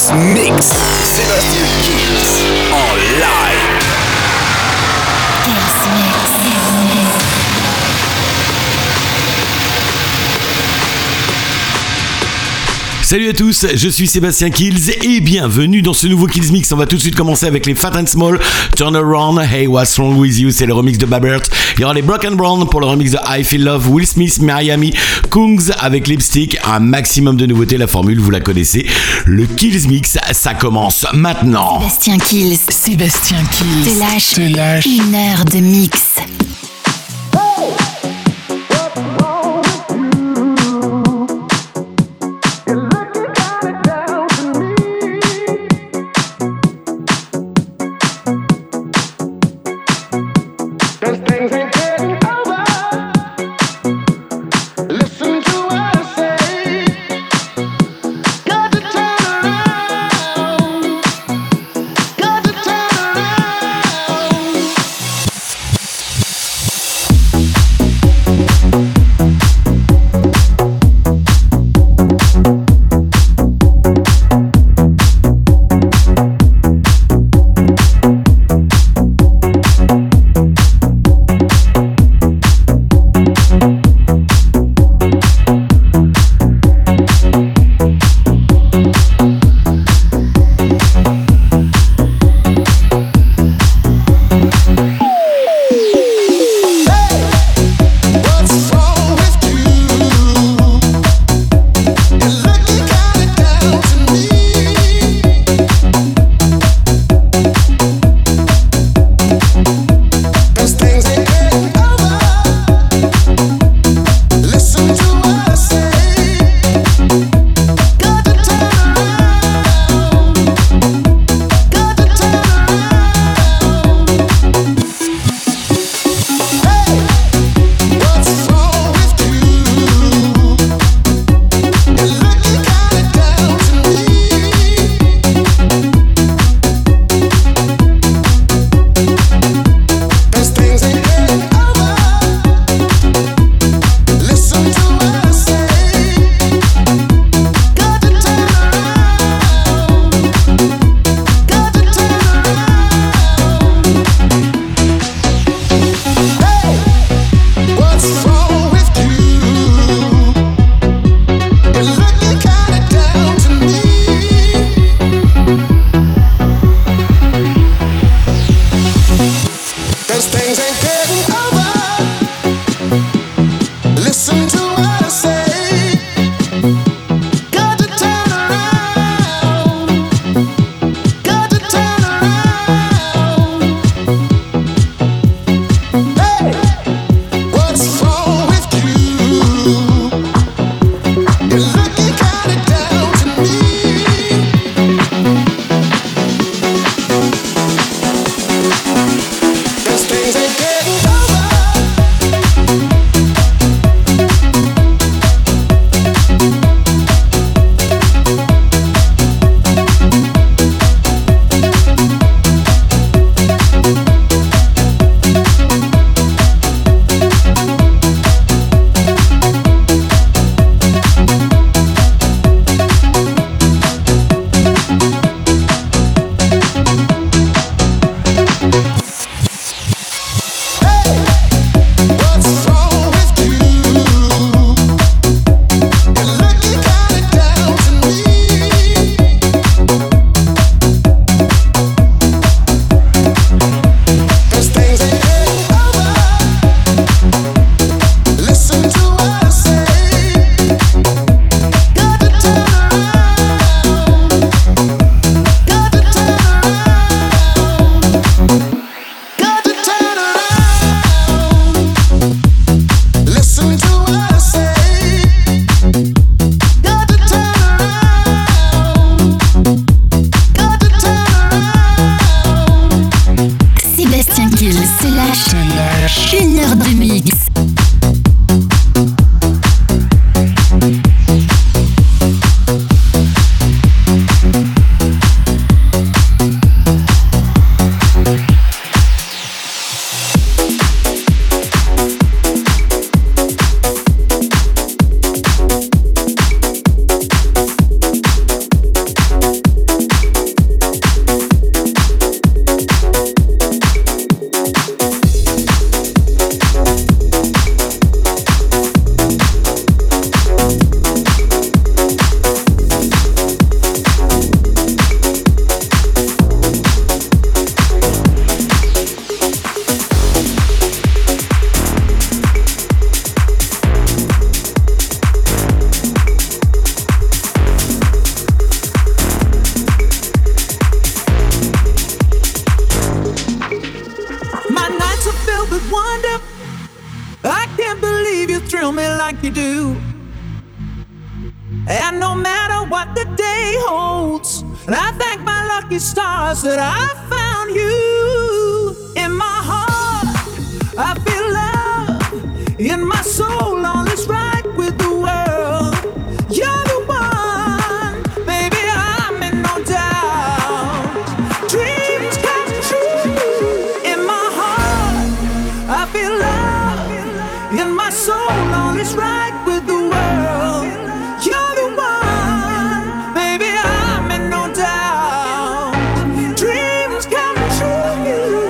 Kills Mix. Sébastien Kills en live. Kills Mix. Salut à tous, je suis Sébastien Kills et bienvenue dans ce nouveau Kills Mix. On va tout de suite commencer avec les Fat and Small, Turn Around, Hey What's Wrong With You, c'est le remix de Babert. Il y aura les Broken Brown pour le remix de I Feel Love, Will Smith, Miami, Kungs avec Lipstick, un maximum de nouveautés, la formule vous la connaissez. Le Kills Mix, ça commence maintenant. Sébastien Kills te lâche une heure de mix. like you do. And no matter what the day holds, I thank my lucky stars that I found you. In my heart, I feel love. In my soul, all is right with the world. You're the one, baby, I'm in no doubt. Dreams come true. In my heart, I feel love. In my soul, all is right with the world. You're the one, baby, I'm in no doubt. Dreams come true.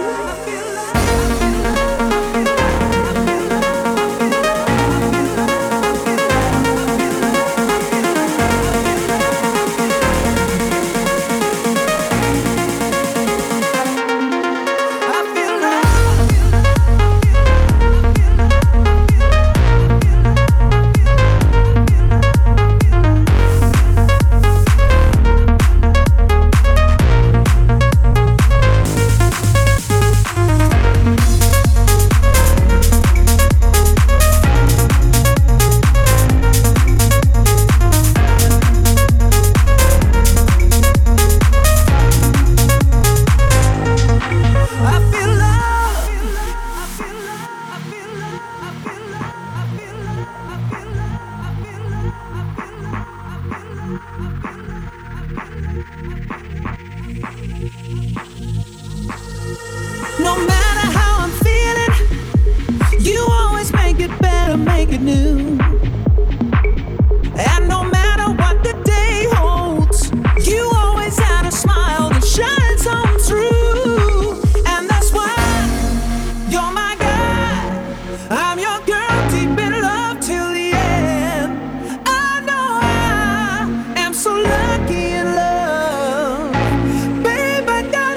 No matter how I'm feeling, you always make it better, make it new. And no matter what the day holds, you always had a smile that shines on through. And that's why you're my guy, I'm your girl, deep in love till the end. I know I am so lucky in love, babe, I got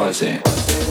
rising.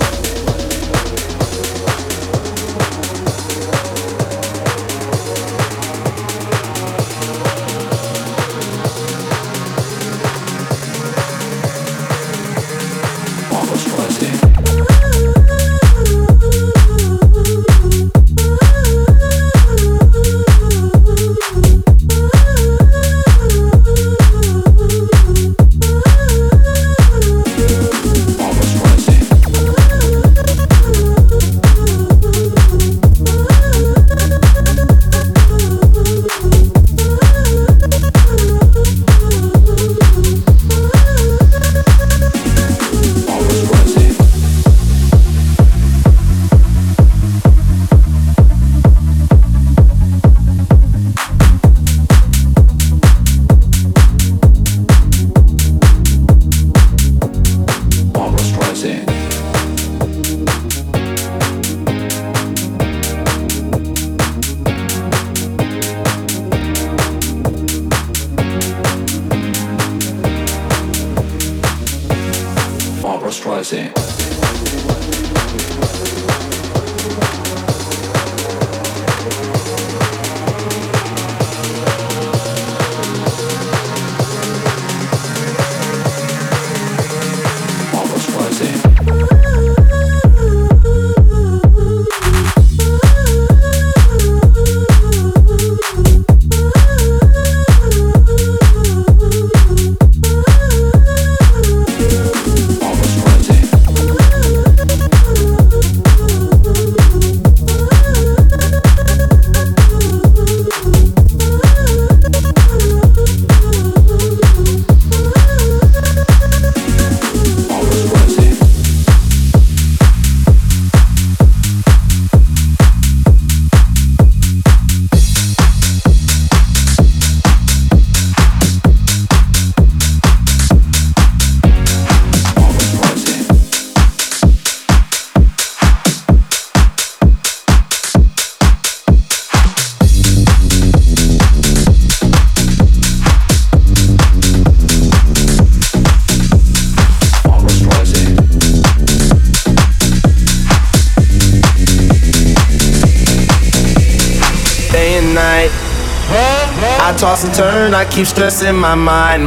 Toss and turn, I keep stressing my mind.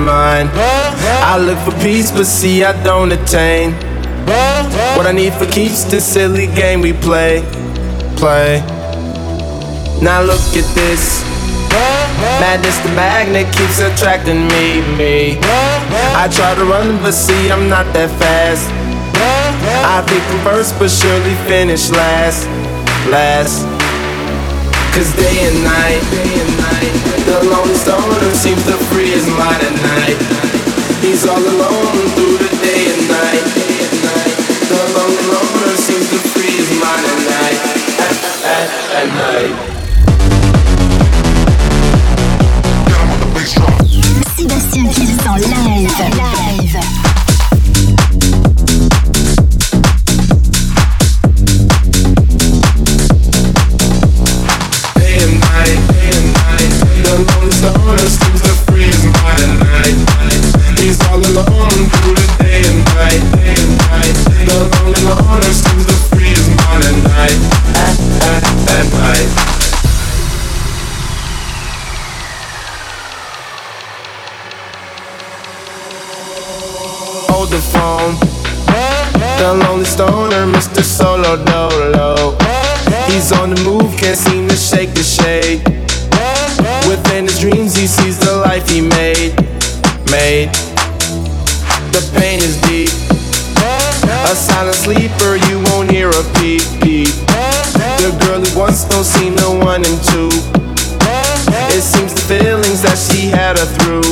I look for peace, but see I don't attain what I need for keeps this silly game we play. Now look at this madness, the magnet keeps attracting me. I try to run, but see I'm not that fast. I think I'm first, but surely finish last. Cause day and night, the lonely stoner seems to free his mind at night. He's all alone through the day and night. The lonely loner seems to free his mind at night. At night. Sébastien Kills en live. The lonely stoner seems to free his mind at night. He's all alone through the day and night. The lonely loner seems to free his mind at night. At night. Hold the phone. The lonely stoner, Mr. Solo Dolo. He's on the move, can't seem to shake the shade. Within his dreams he sees the life he made. The pain is deep. A silent sleeper, you won't hear a peep. The girl he wants don't seem the one and two. It seems the feelings that she had her through.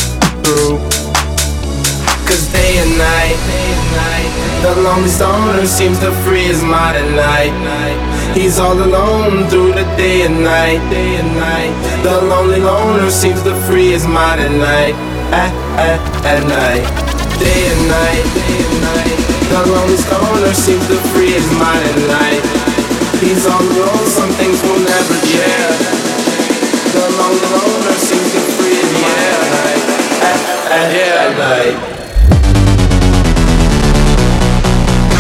Cause day and night, the lonely stoner seems to free his mind at night. He's all alone through the day and night. The lonely loner seems to free his mind at night. At night. Day and night. The lonely stoner seems to free his mind at night. He's all alone, some things will never change. The lonely loner seems to free his mind at night.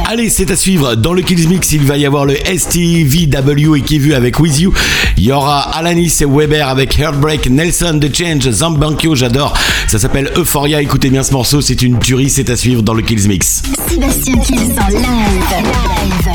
Allez, c'est à suivre. Dans le Kills Mix, il va y avoir le STVW et qui vu avec With You. Il y aura Alanis et Weber avec Heartbreak, Nelson, The Change, Zambankyo, j'adore. Ça s'appelle Euphoria. Écoutez bien ce morceau, c'est une tuerie. C'est à suivre dans le Kills Mix. Sébastien Kills en live.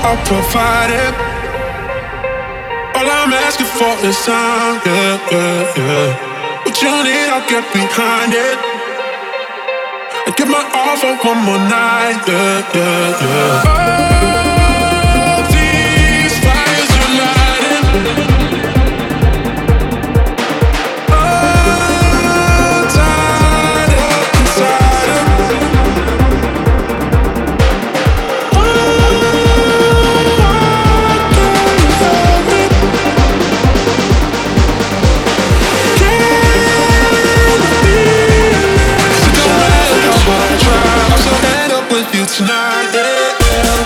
I'll provide it. All I'm asking for is time, yeah, yeah, yeah. What you need, I'll get behind it. I give my all for one more night, yeah, yeah, yeah. All these fires you're lighting, all tied up inside of me. Tonight, yeah, yeah.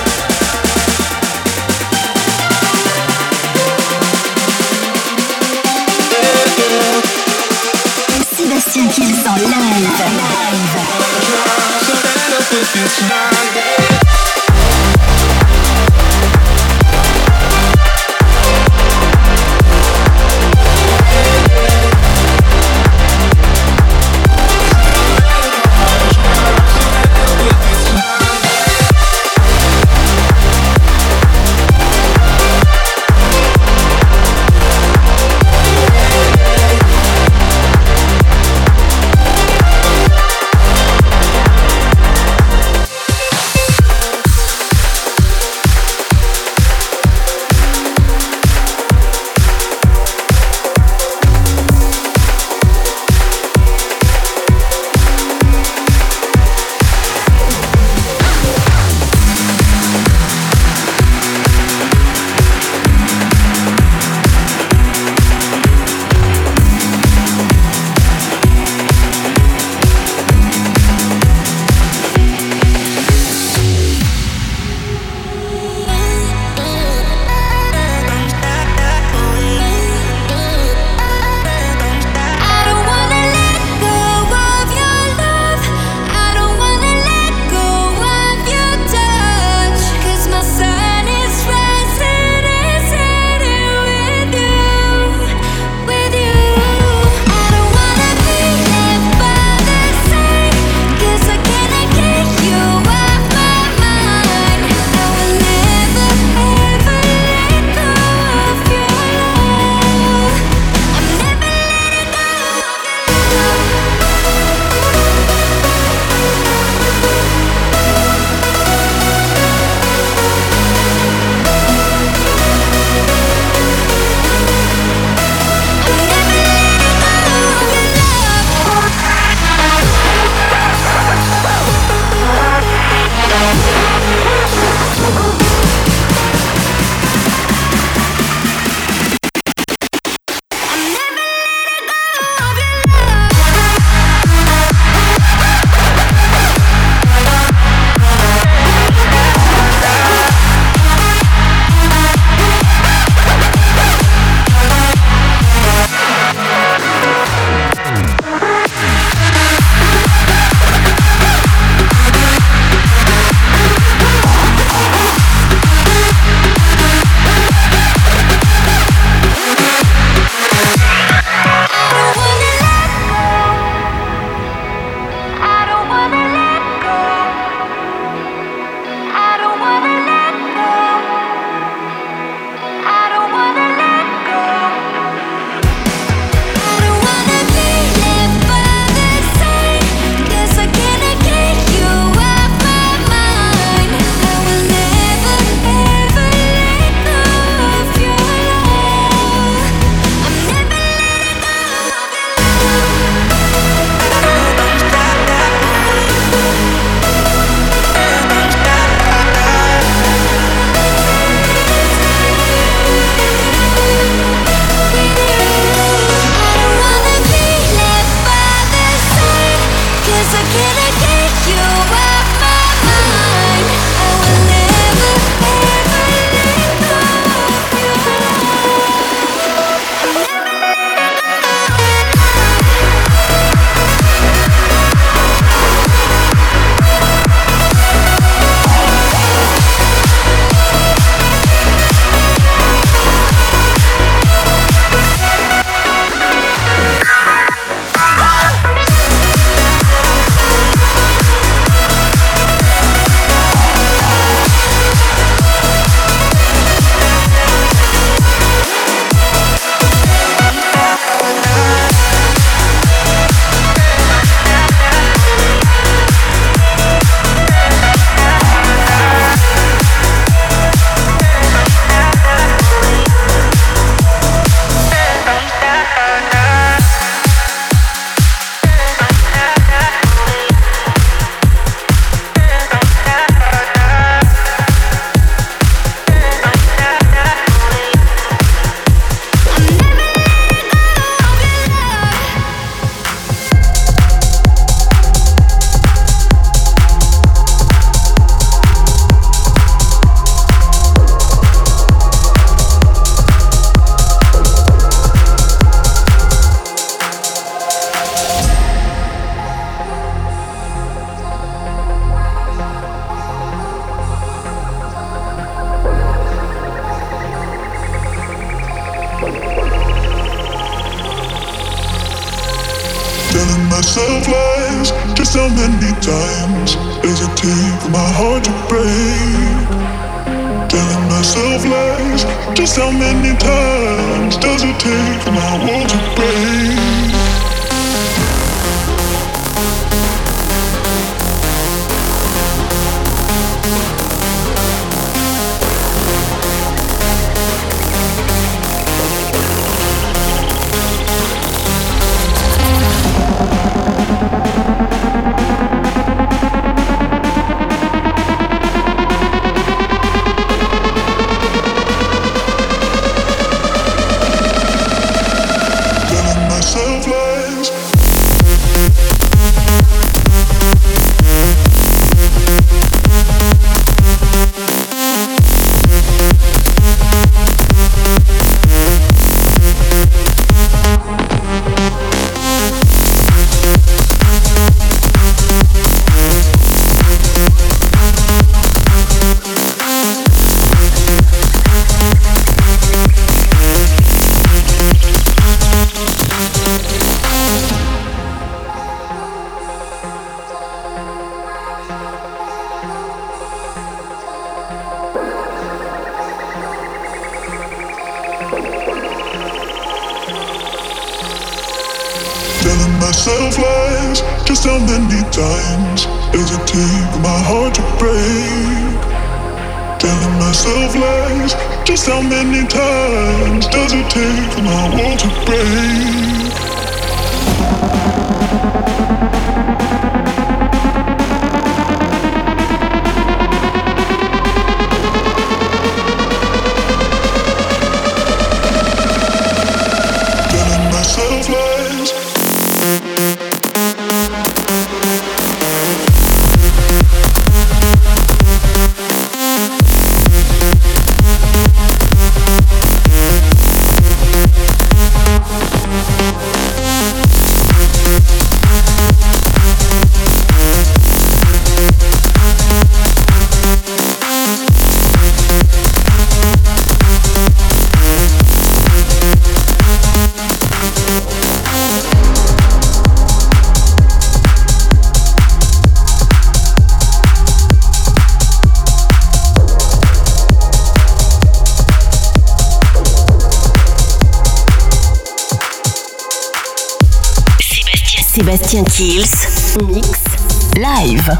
Sébastien Kills en live. So end up with you tonight, yeah. how many times does it take for my heart to break? Telling myself lies. Just how many times does it take for my world to break? Myself lies. Just how many times does it take for my heart to break? Telling myself lies. Just how many times does it take for my world to break? Telling myself lies. Sébastien Kills, mix live.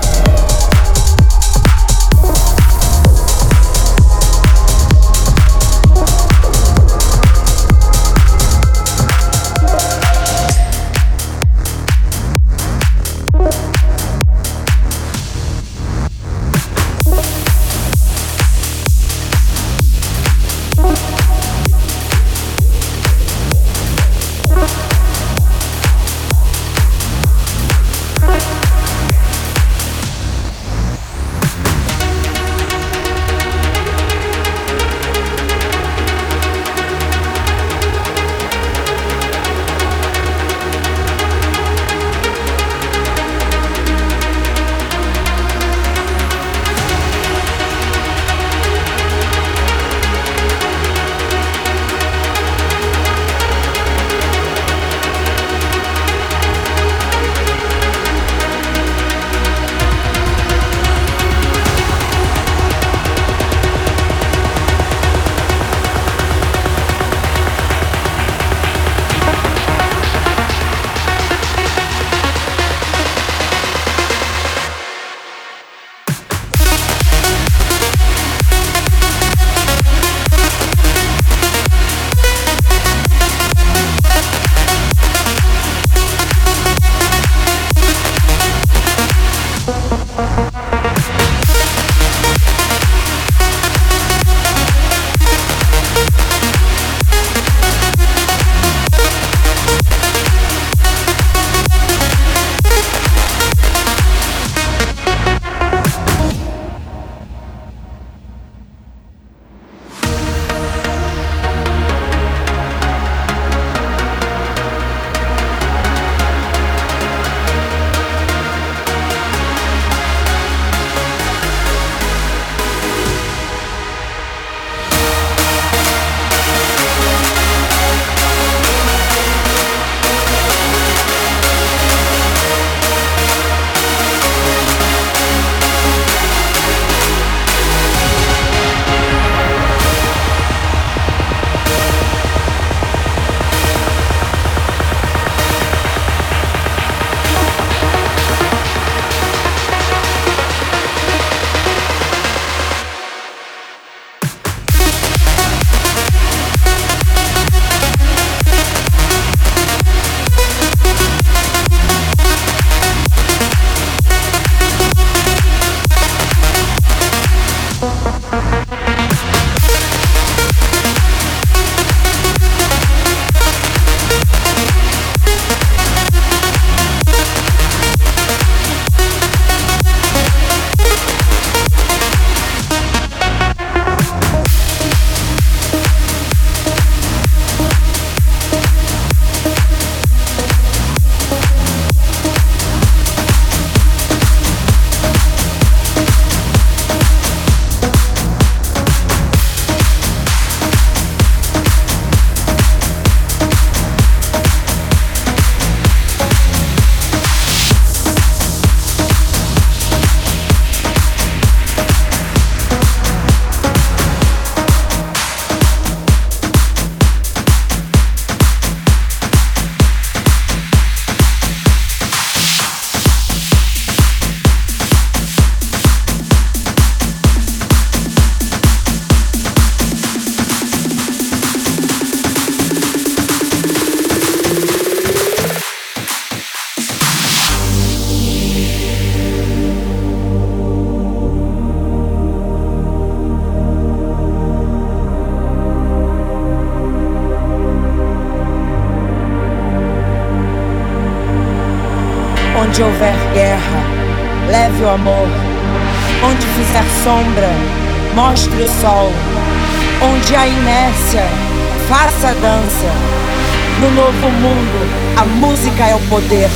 Onde houver guerra, leve o amor. Onde fizer sombra, mostre o sol. Onde há inércia, faça a dança. No novo mundo, a música é o poder.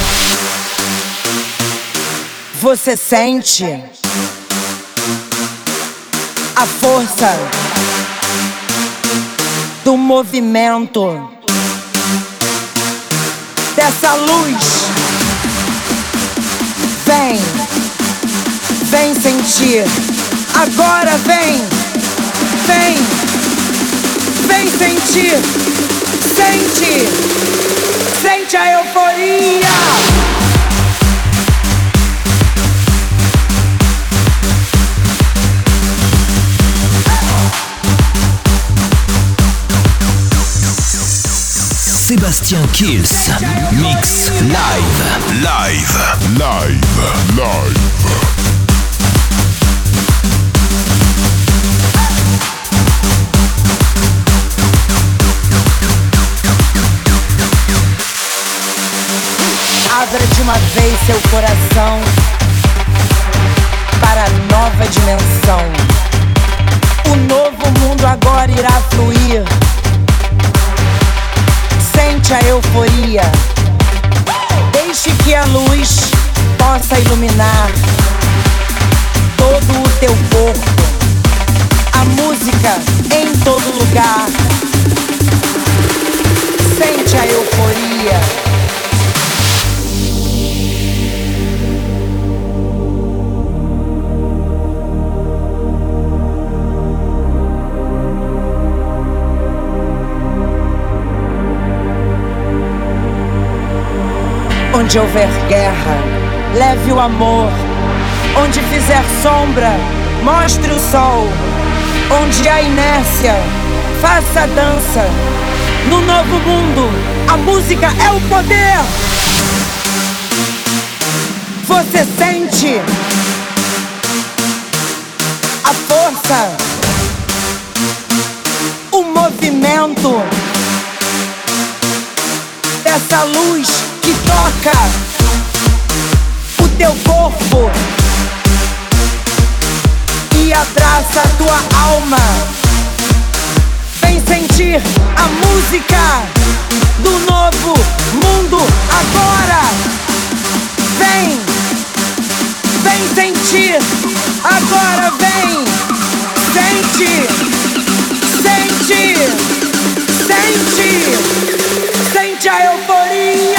Você sente a força do movimento dessa luz. Vem, vem sentir. Agora vem, vem, vem sentir. Sente, sente a euforia. Sébastien Kills, mix live. Live. Live. Live. Abra de uma vez seu coração para a nova dimensão. O novo mundo agora irá fluir. Sente a euforia. Deixe que a luz possa iluminar todo o teu corpo. A música em todo lugar. Sente a euforia. Onde houver guerra, leve o amor. Onde fizer sombra, mostre o sol. Onde há inércia, faça a dança. No novo mundo, a música é o poder. Você sente a força, o movimento dessa luz que toca o teu corpo e abraça a tua alma. Vem sentir a música do novo mundo agora. Vem, vem sentir agora. Vem, sente, sente, sente, sente a euforia.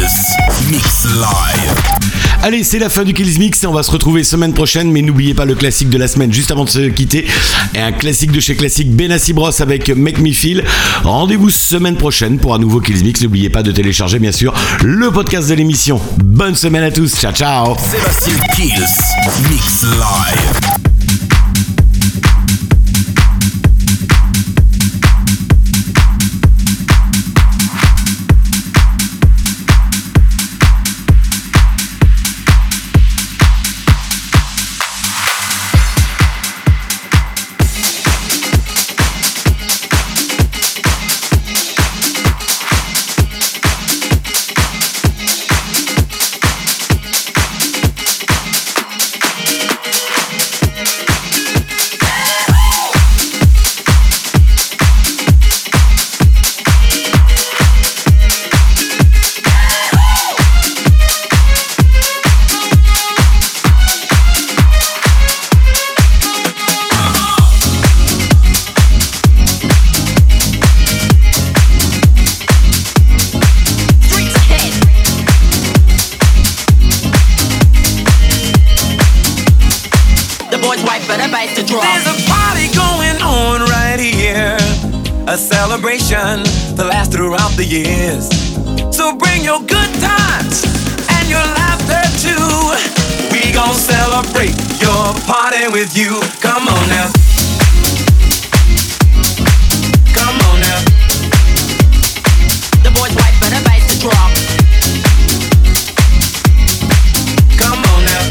Mix Live. Allez, c'est la fin du Kills Mix et on va se retrouver semaine prochaine, mais n'oubliez pas le classique de la semaine juste avant de se quitter, et un classique de chez Classique, Benassi Bros avec Make Me Feel. Rendez-vous semaine prochaine pour un nouveau Kills Mix. N'oubliez pas de télécharger bien sûr le podcast de l'émission. Bonne semaine à tous, ciao ciao. Sébastien Kills Mix Live. A celebration that lasts throughout the years. So bring your good times and your laughter too. We gon' celebrate your party with you. Come on now. Come on now. The boys wait for the bass to drop. Come on now.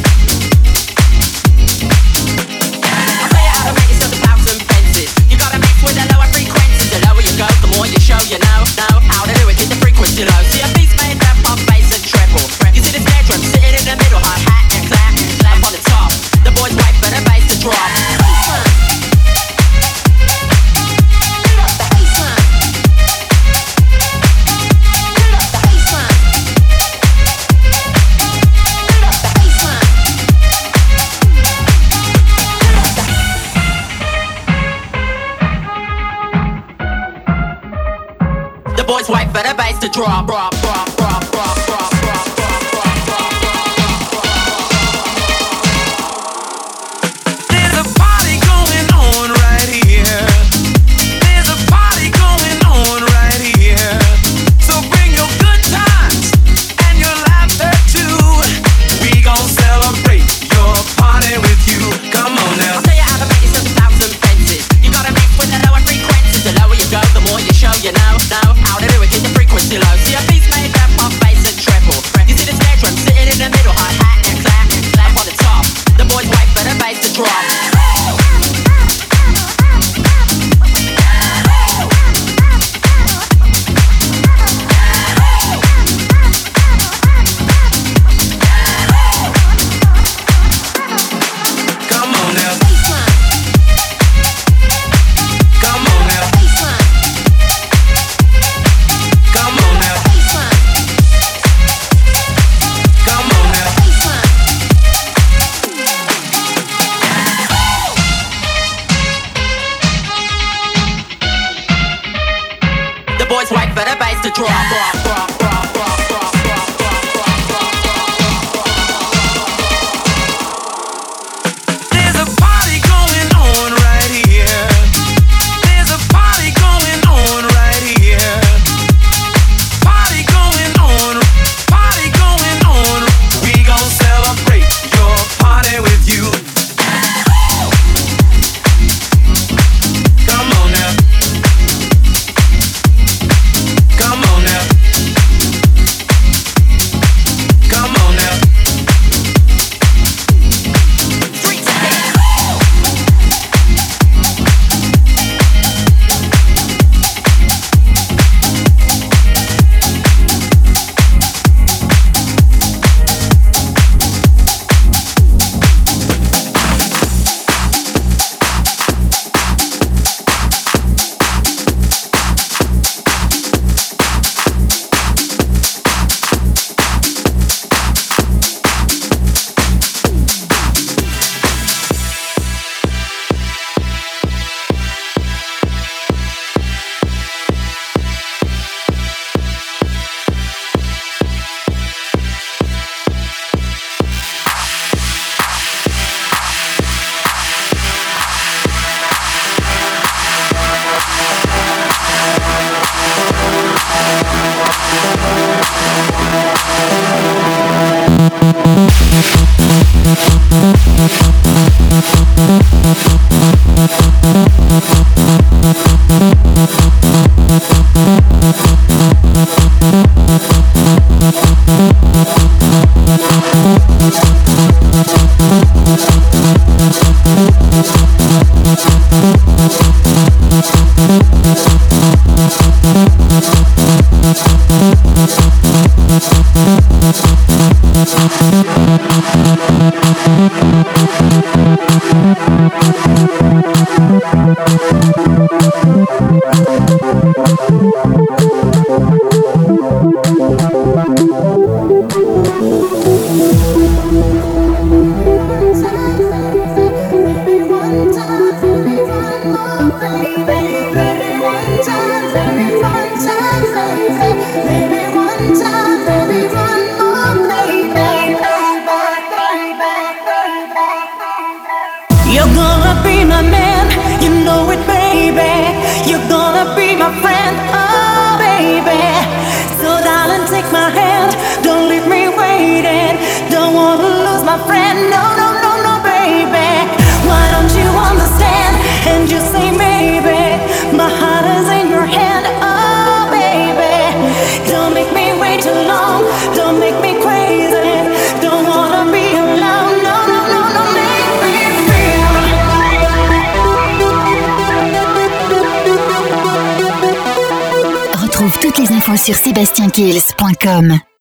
I'll tell you how to make yourself 1,000 fences. You gotta mix with the lower frequencies. The lower you go, the more you show. You know how to do it. Keep the frequency low. See a beat's made up of bass and treble. You see the snare drum sitting in the middle, hi hat and clap up on the top. The boys wait for the bass to drop. Boys wait for the bass to drop, drop, drop, drop, drop, drop, drop, drop, drop, drop. There's a party going on right here. There's a party going on right here. So bring your good times and your laughter too. We gon' celebrate your party with you. Come on now. I'll tell you how to make yourself 1,000 fences. You gotta mix with the lower frequencies. The lower you go, the more you show. You know how to do it, keep the frequency low. See a beat's Retrouve toutes les infos sur SébastienKills.com.